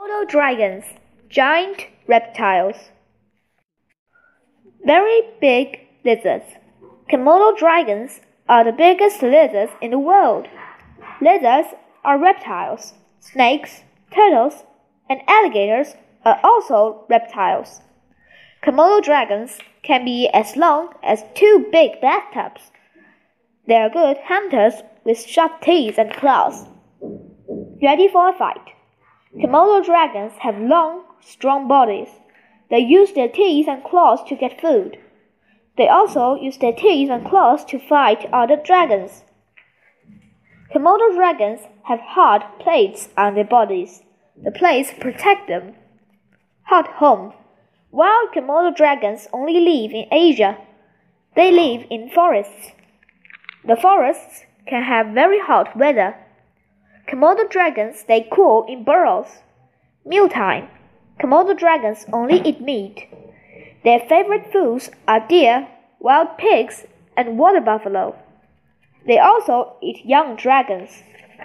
Komodo dragons, giant reptiles. Very big lizards. Komodo dragons are the biggest lizards in the world. Lizards are reptiles. Snakes, turtles, and alligators are also reptiles. Komodo dragons can be as long as 2 big bathtubs. They are good hunters with sharp teeth and claws. Ready for a fight. Komodo dragons have long, strong bodies. They use their teeth and claws to get food. They also use their teeth and claws to fight other dragons. Komodo dragons have hard plates on their bodies. The plates protect them. Hot home. Wild Komodo dragons only live in Asia. They live in forests. The forests can have very hot weather. Komodo dragons stay cool in burrows. Mealtime. Komodo dragons only eat meat. Their favorite foods are deer, wild pigs, and water buffalo. They also eat young dragons.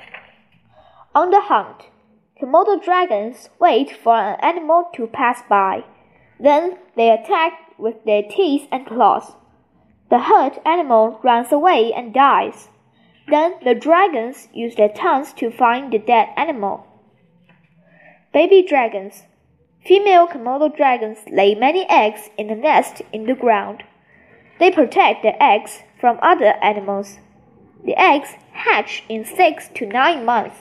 On the hunt, Komodo dragons wait for an animal to pass by. Then they attack with their teeth and claws. The hurt animal runs away and dies. Then the dragons use their tongues to find the dead animal. Baby dragons. Female Komodo dragons lay many eggs in a nest in the ground. They protect their eggs from other animals. The eggs hatch in 6 to 9 months.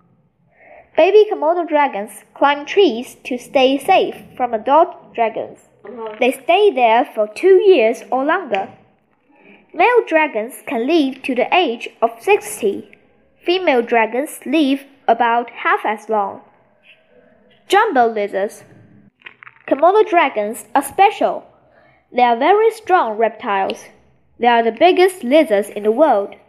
Baby Komodo dragons climb trees to stay safe from adult dragons. They stay there for 2 years or longer. Male dragons can live to the age of 60. Female dragons live about half as long. Jumbo lizards. Komodo dragons are special. They are very strong reptiles. They are the biggest lizards in the world.